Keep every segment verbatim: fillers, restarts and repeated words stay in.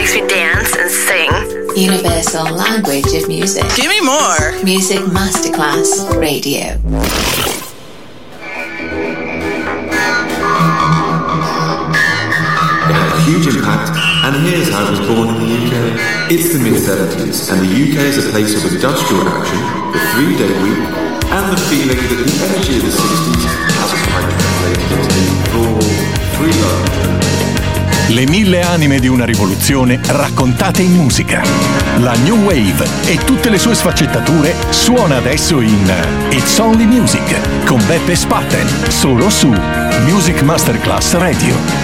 makes me dance and sing. Universal language of music. Give me more. Music Masterclass Radio. Huge impact, and here's how it was born in the U K. It's the mid seventies, and the U K is a place of industrial action, the three-day week, and the feeling that the energy of the sixties has quite translated into raw, free love. Le mille anime di una rivoluzione raccontate in musica. La New Wave e tutte le sue sfaccettature suona adesso in It's Only Music con Beppe Spatten, solo su Music Masterclass Radio.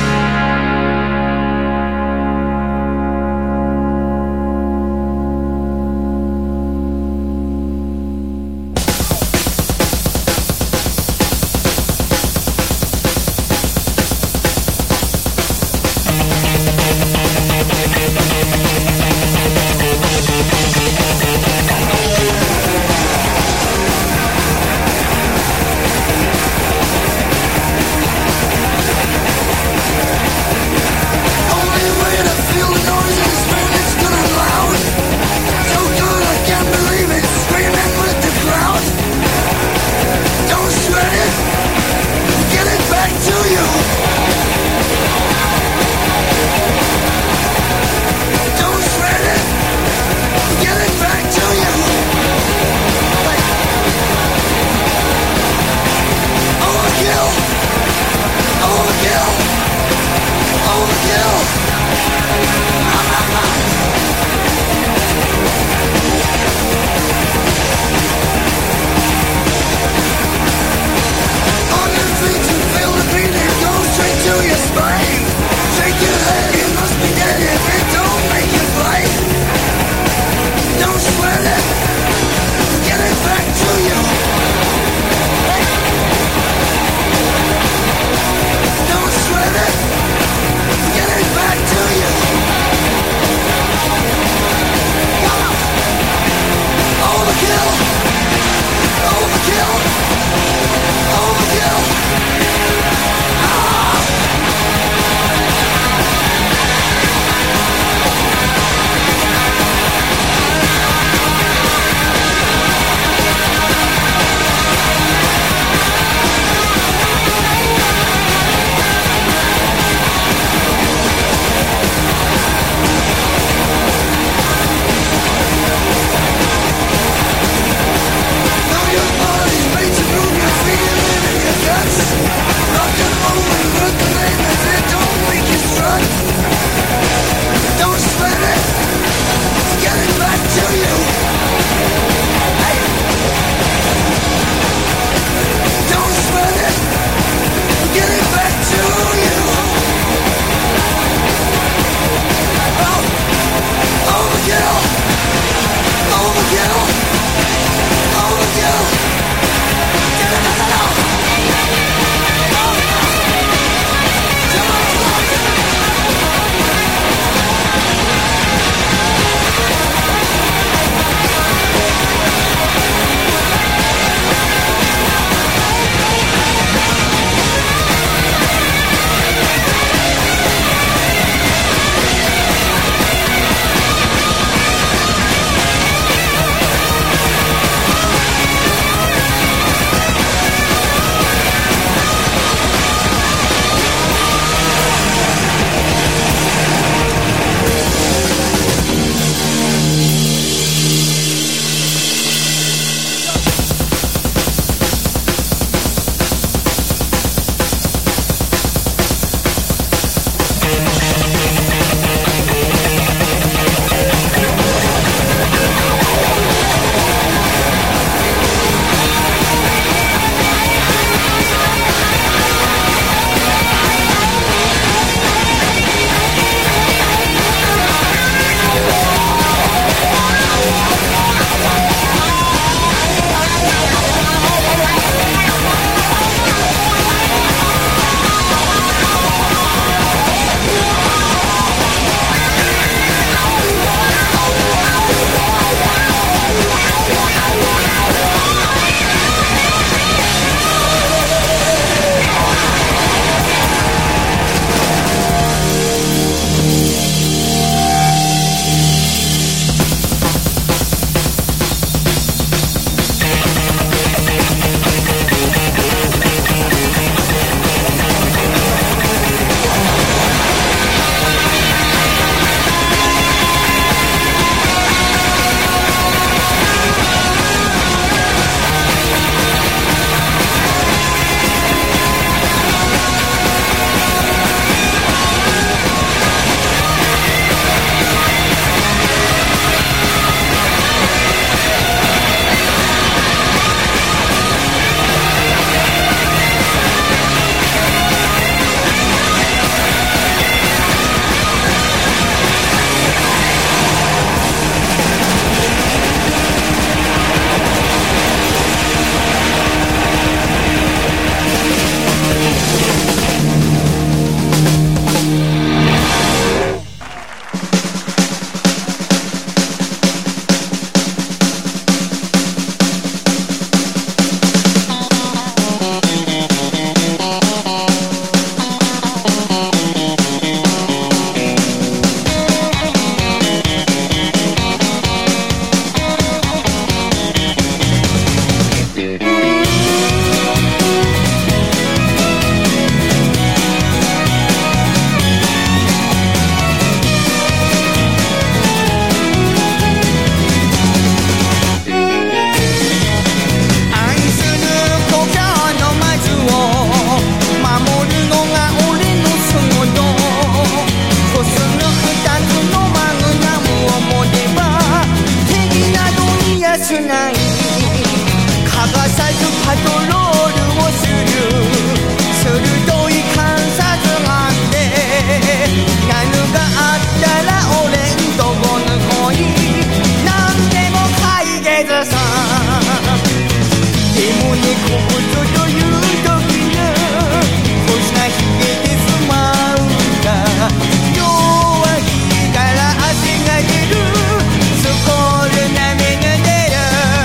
くない欠かさずパトロールをする鋭い観察眼で何があったら俺んとこの恋なんでも解決さでもねここぞという時に星が冷えてしまうんだ弱いから汗が出るスコールなめが出る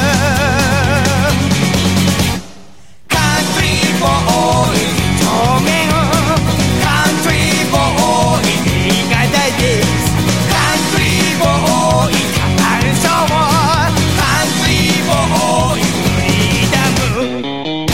カントリーボーイ表現カントリーボーイ新潟ですカントリーボーイカンショーカントリーボーイフリーダム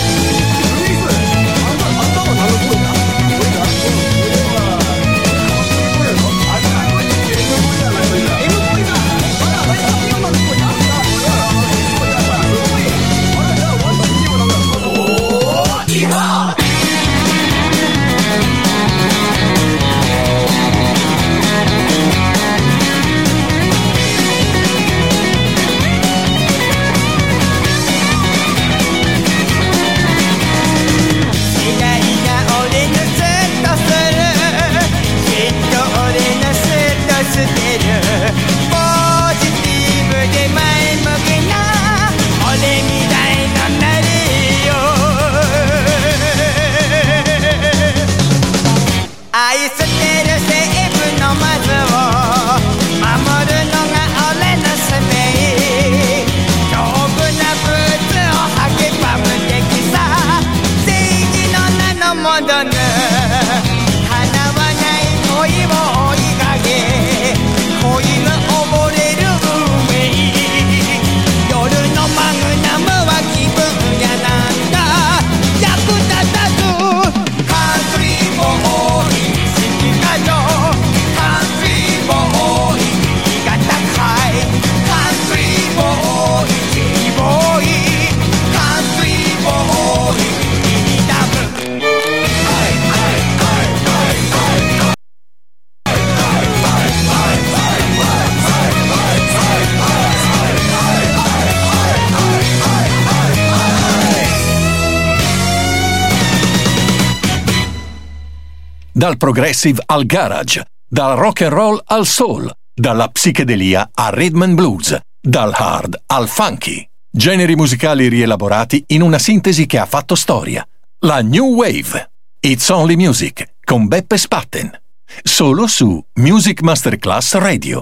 Dal progressive al garage, dal rock and roll al soul, dalla psichedelia al rhythm and blues, dal hard al funky. Generi musicali rielaborati in una sintesi che ha fatto storia. La New Wave. It's Only Music con Beppe Spatten. Solo su Music Masterclass Radio.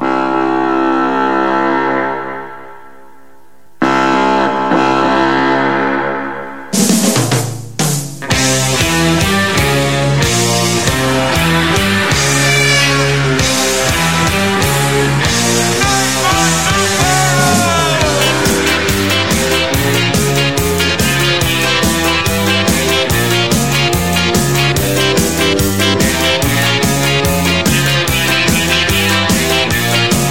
「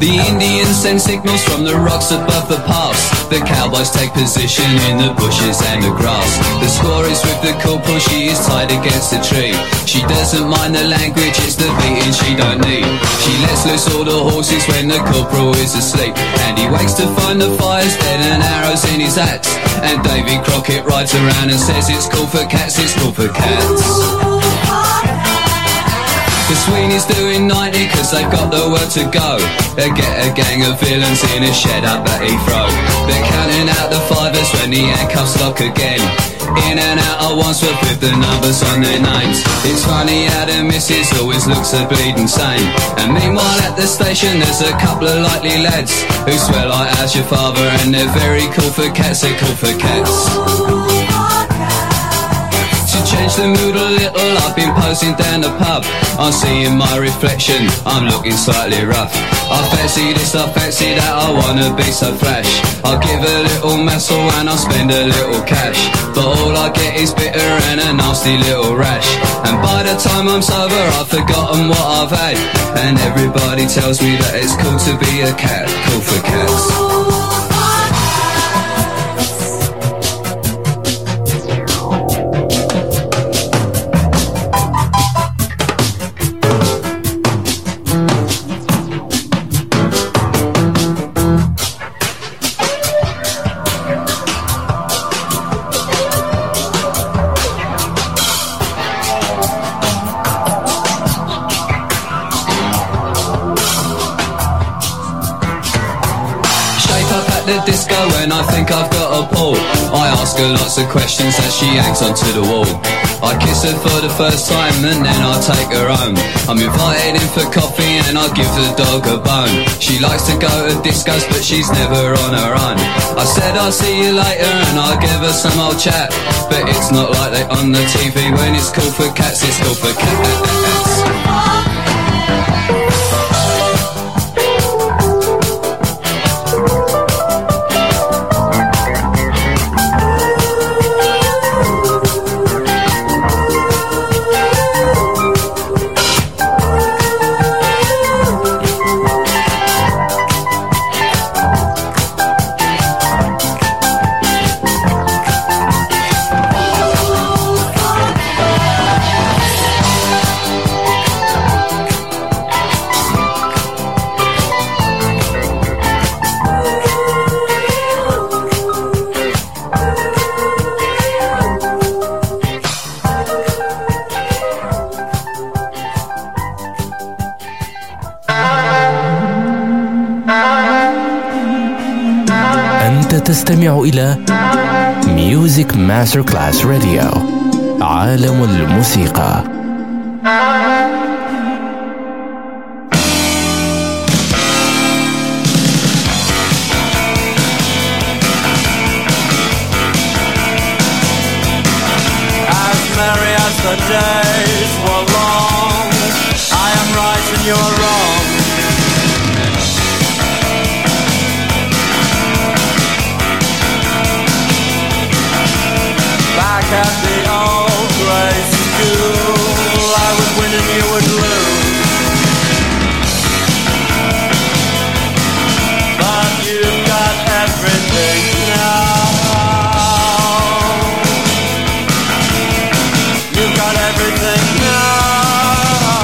The Indians send signals from the rocks above the pass. The cowboys take position in the bushes and the grass. The squaw is with the corporal, she is tied against a tree. She doesn't mind the language, it's the beating she don't need. She lets loose all the horses when the corporal is asleep. And he wakes to find the fire's dead and arrows in his axe. And Davy Crockett rides around and says it's cool for cats, it's cool for cats. The Sweeney's doing ninety cause they've got the word to go. They get a gang of villains in a shed up at Heathrow. They're counting out the fivers when the handcuffs lock again. In and out at Wandsworth with the numbers on their names. It's funny how the missus always looks a bleeding sane. And meanwhile at the station there's a couple of likely lads who swear like how's your father, and they're very cool for cats, they're cool for cats. To change the mood a little, I've been posing down the pub. I'm seeing my reflection, I'm looking slightly rough. I fancy this, I fancy that, I wanna be so flash. I'll give a little muscle and I'll spend a little cash. But all I get is bitter and a nasty little rash. And by the time I'm sober I've forgotten what I've had. And everybody tells me that it's cool to be a cat, cool for cats. When I think I've got a pull, I ask her lots of questions as she hangs onto the wall. I kiss her for the first time and then I take her home. I'm invited in for coffee and I give the dog a bone. She likes to go to discos but she's never on her own. I said I'll see you later and I'll give her some old chat. But it's not like they on the T V when it's cool for cats, it's cool for cats. تستمع إلى Music Masterclass Radio، عالم الموسيقى. As merry as the days were long, I am right and you are wrong. Back at the old grey school, I would win and you would lose. But you've got everything now. You've got everything now.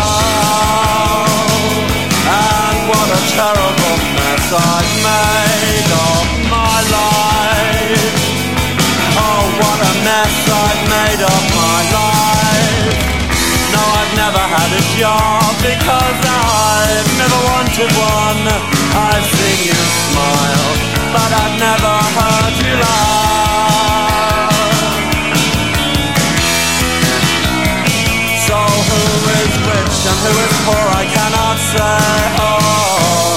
And what a terrible mess I've made of my life. Oh, what a mess I've made of my life. No, I've never had a job because I've never wanted one. I've seen you smile, but I've never heard you laugh. So who is rich and who is poor I cannot say. Oh,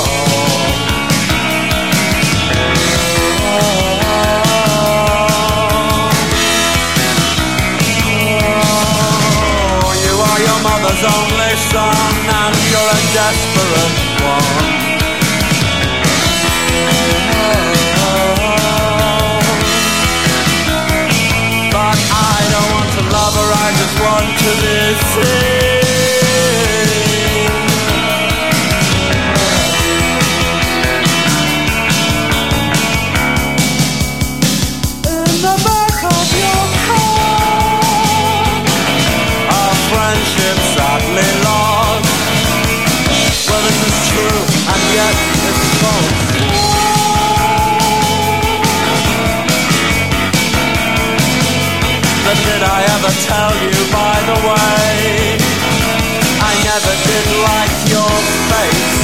mother's only son, and you're a desperate one. But I don't want to love her, I just want to be seen. tell you by the way, I never did like your face,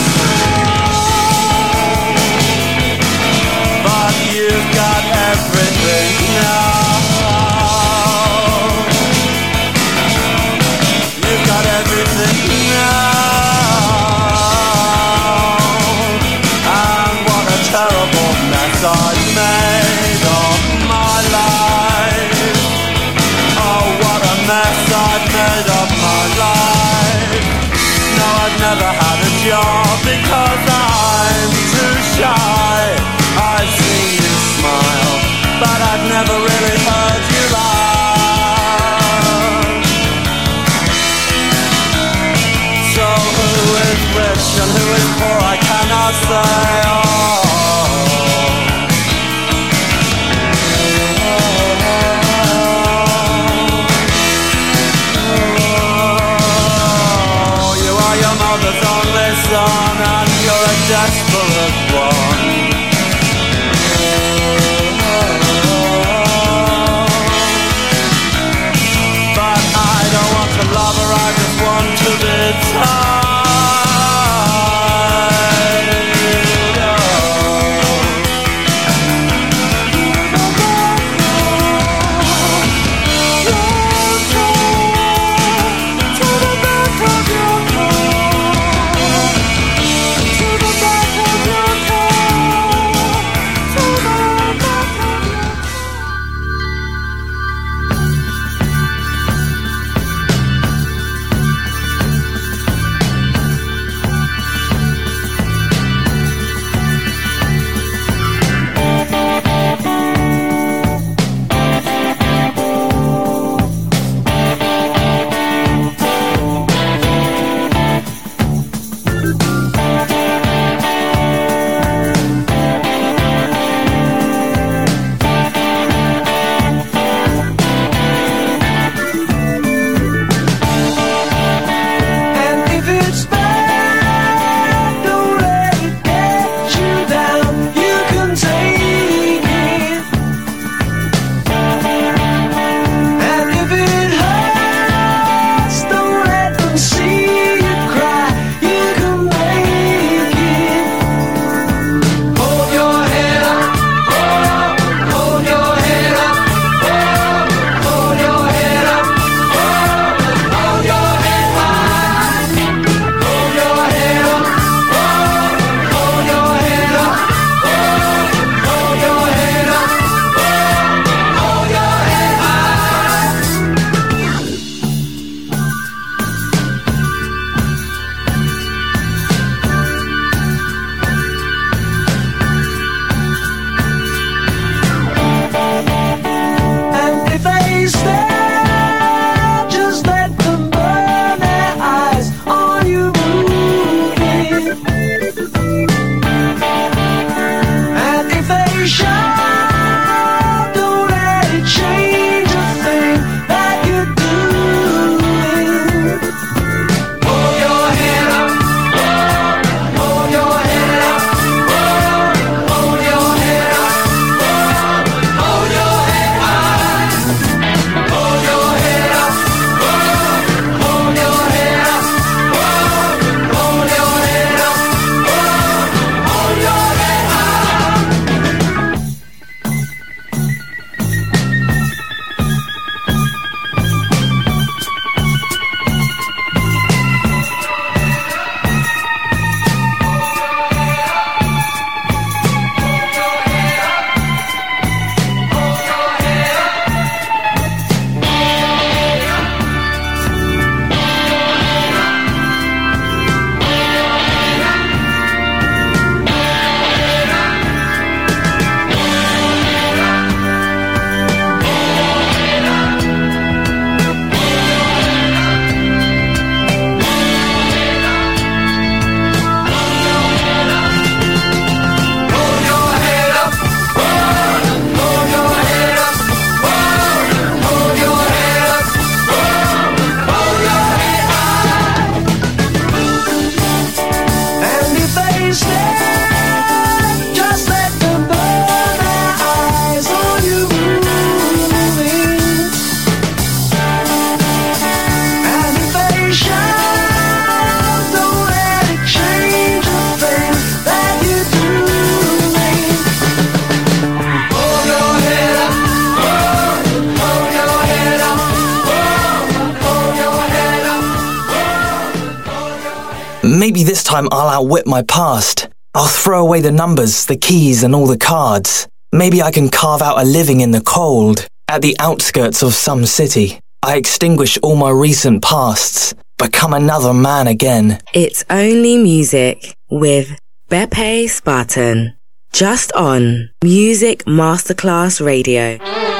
but you've got everything now. You've got everything now. And what a terrible mess I've made of my life. Oh, what a mess I've made of my life. No, I've never had a job because I'm too shy. I've seen you smile, but I've never really heard you laugh. So who is rich and who is poor, I cannot say. Oh, you are your mother's only son, and you're a desperate one. But I don't want to love her, I just want to be tied. Maybe this time I'll outwit my past. I'll throw away the numbers, the keys, and all the cards. Maybe I can carve out a living in the cold, at the outskirts of some city. I extinguish all my recent pasts, become another man again. It's Only Music with Beppe Spartan. Just on Music Masterclass Radio.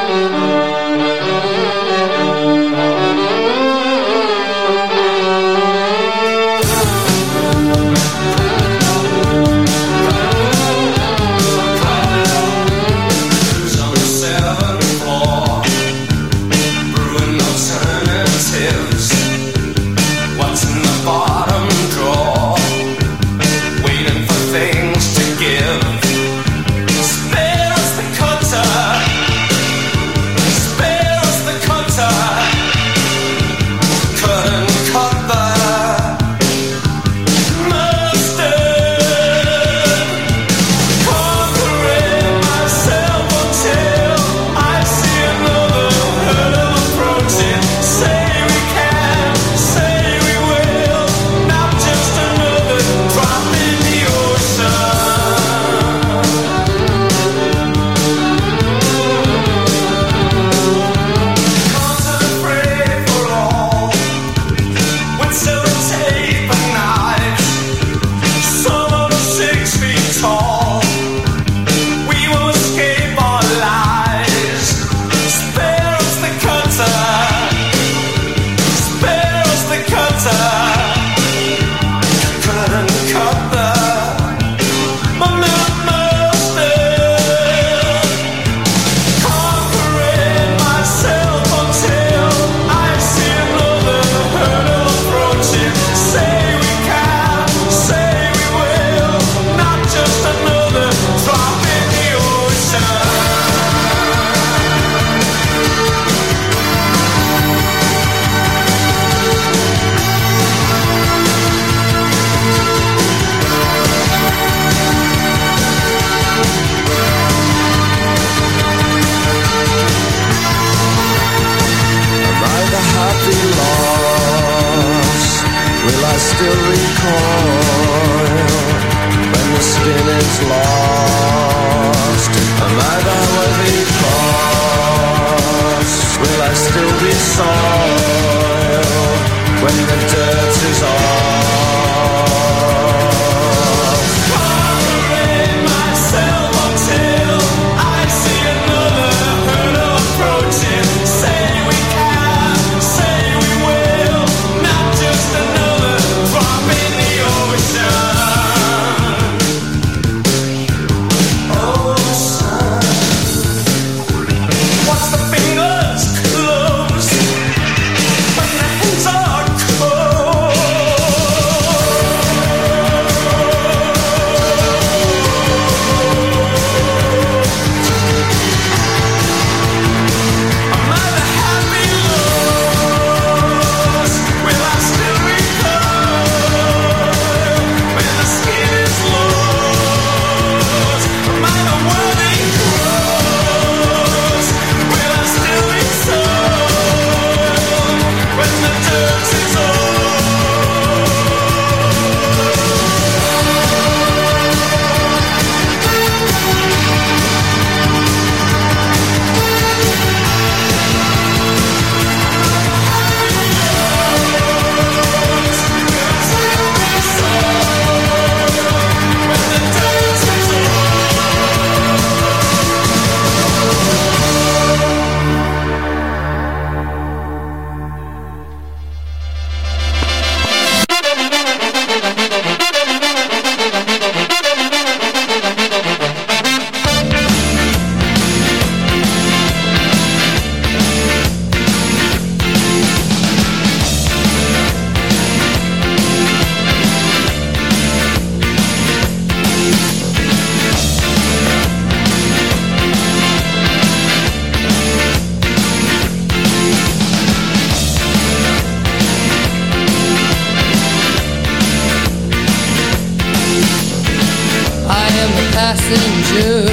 passenger,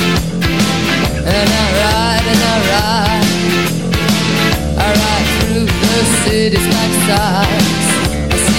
and I ride and I ride, I ride through the city's backsides. I see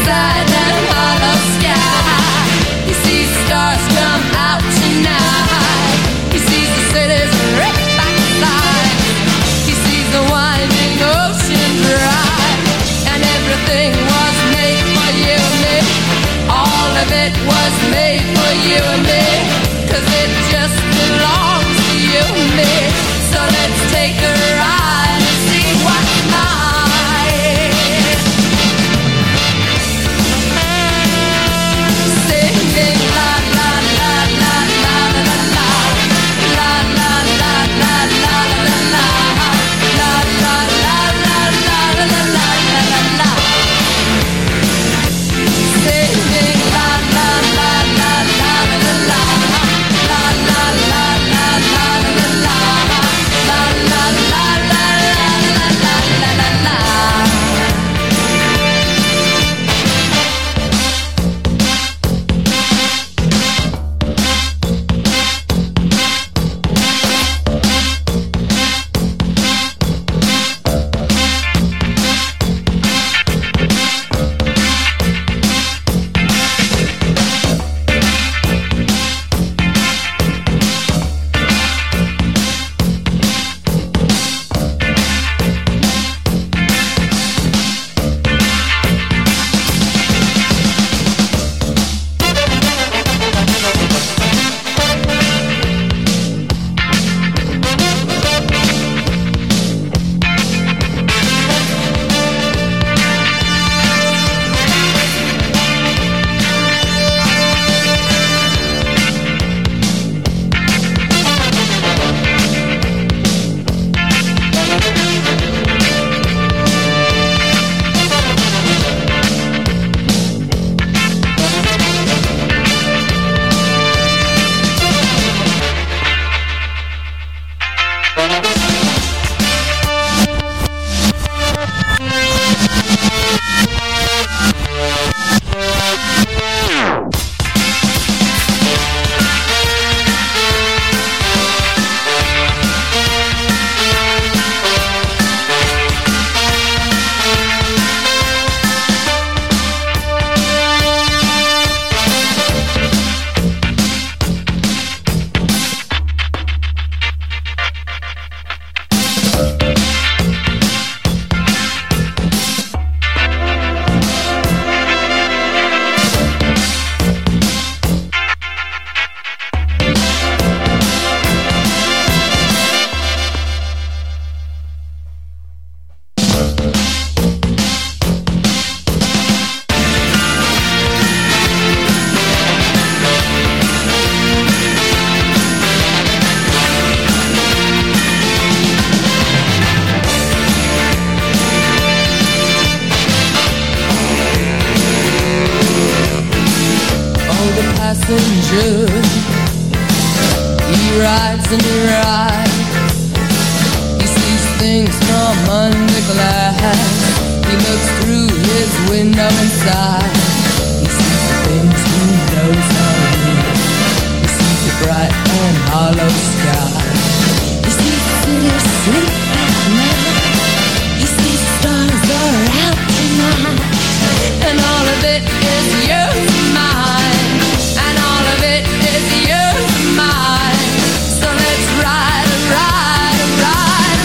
right. He sees things from under glass. He looks through his window inside. He sees the things he knows are real. He sees the bright and hollow sky. He sees the city sleep at night. He sees the stars are out tonight. And all of it is yours and mine. And all of it is yours and mine. So let's ride, ride, ride,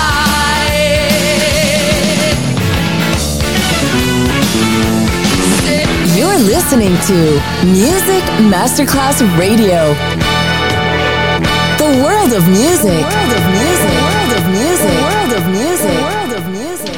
ride. You're listening to Music Masterclass Radio. The world of music. The world of music. The world of music. The world of music. The world of music.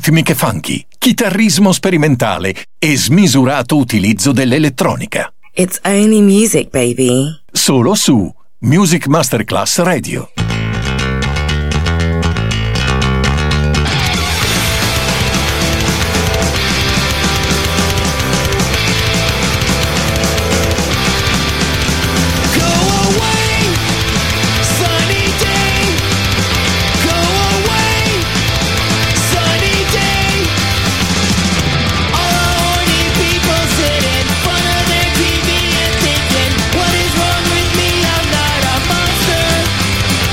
ritmiche funky, chitarrismo sperimentale e smisurato utilizzo dell'elettronica. It's only music, baby. Solo su Music Masterclass Radio. What is wrong with me? I'm not a monster.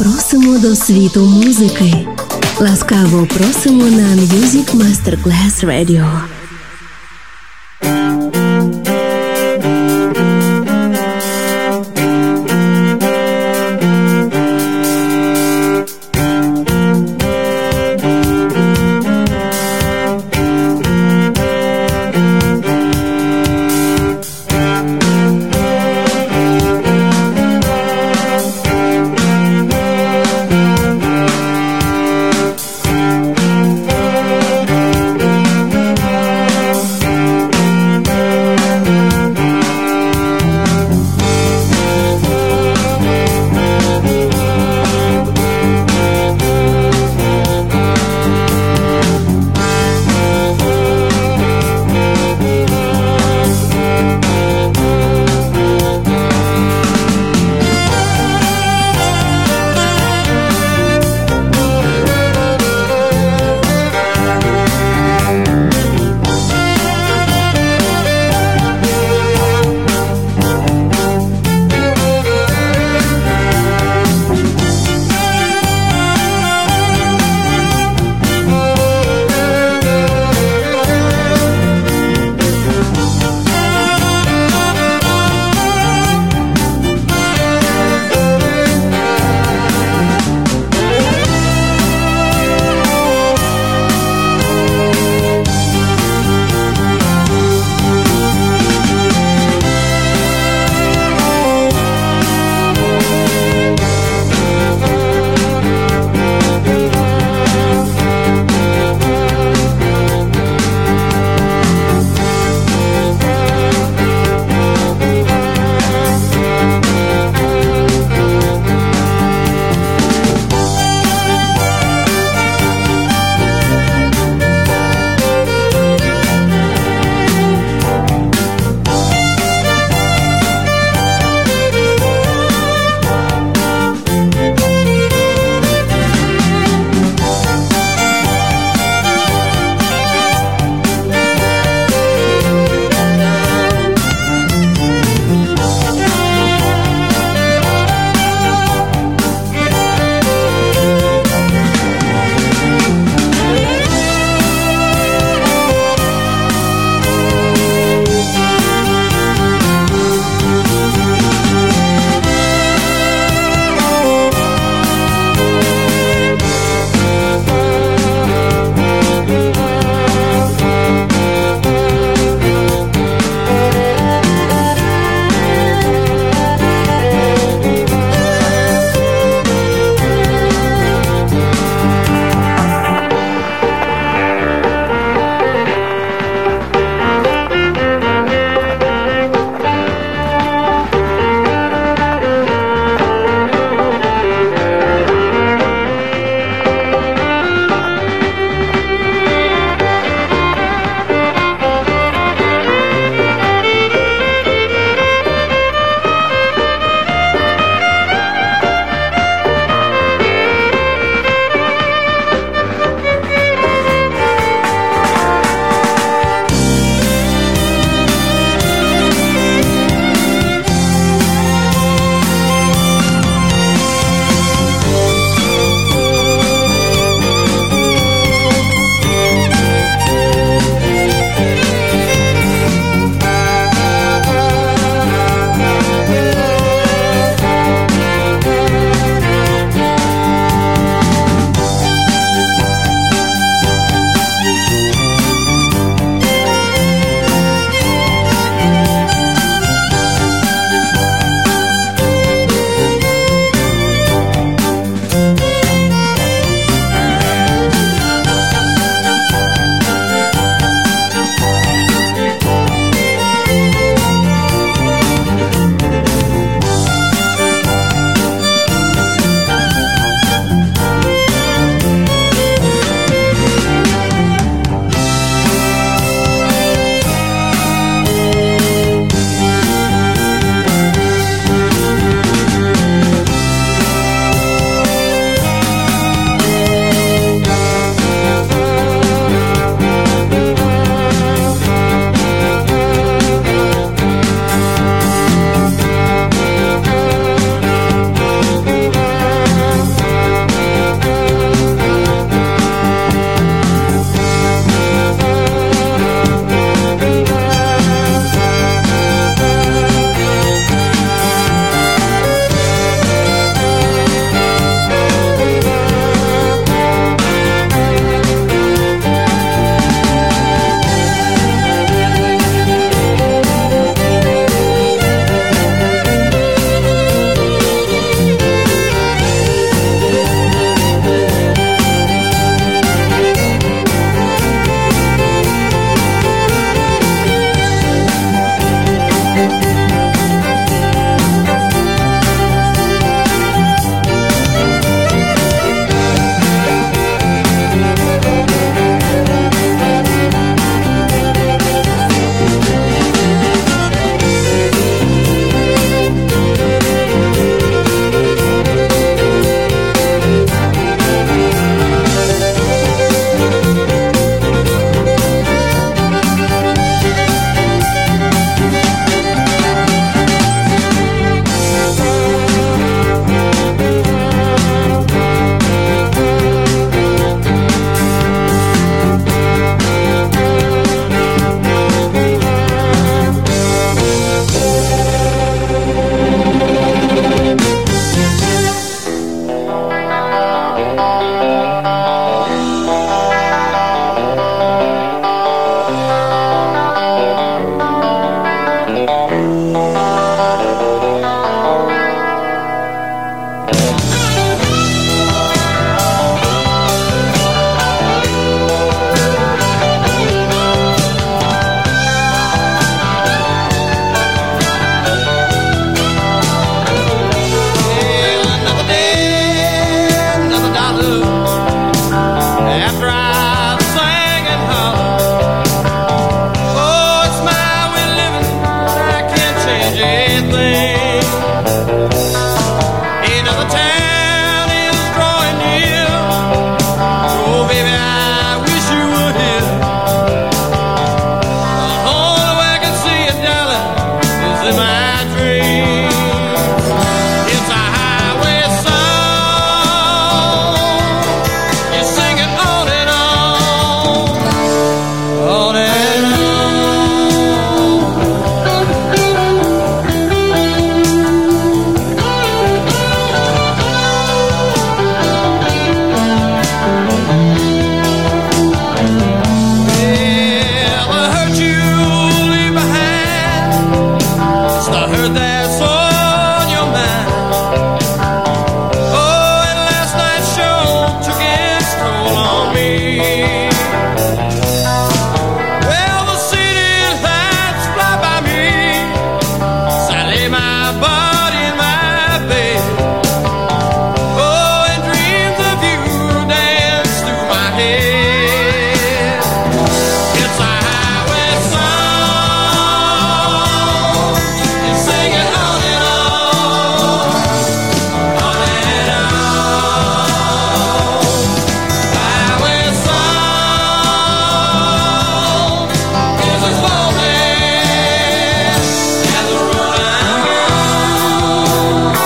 просимо до світу музики. Ласкаво просимо на Music Masterclass Radio. after I sang and hollered. Oh, it's my way of living, I can't change anything. Another town is drawing near. Oh, baby, I wish you were here. The only way I can see you, darling, is in my dreams. It's a highway song. You sing it on and on, on and on. Well, the hurt you leave behind, it's the hurt that's on your mind. Oh, and last night's show took its toll on me. Well, the city lights fly by me, so I lay my body in my bed. Oh, and dreams of you dance through my head. It's a highway song. You sing it on and on, on and on. Highway song is as lonely as the road I'm on.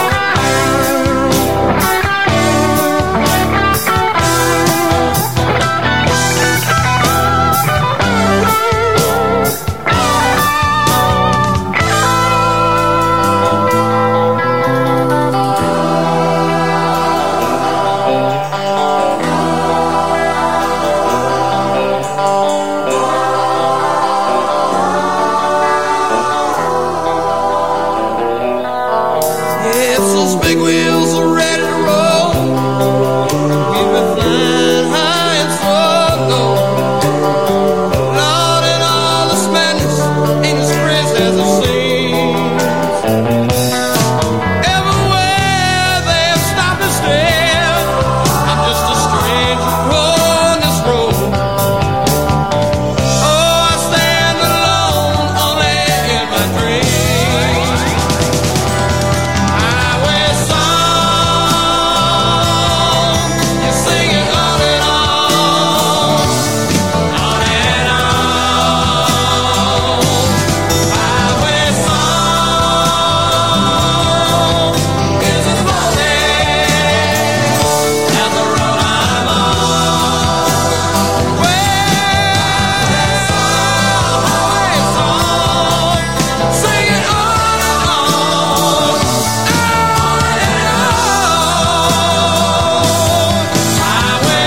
If those big wheels are ready to roll, we've been flying high and so low. Lord, and all this madness ain't as crazy as it seems. Everywhere they've stopped and stared, I'm just a stranger on this road. Oh, I stand alone only in my dreams. Highway song, you sing it on and on, on and on. Highway song is as lonely as the road I'm on. Well, highway song, sing it on and on, on and on. Highway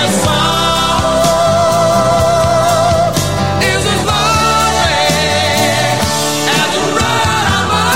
song is as lonely as the road I'm on.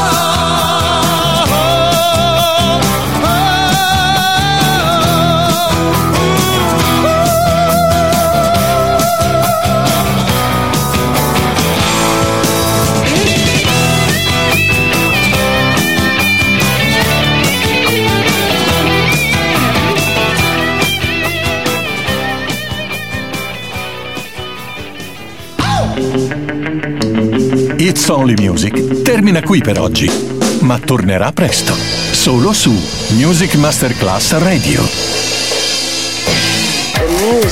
It's Only Music termina qui per oggi, ma tornerà presto, solo su Music Masterclass Radio.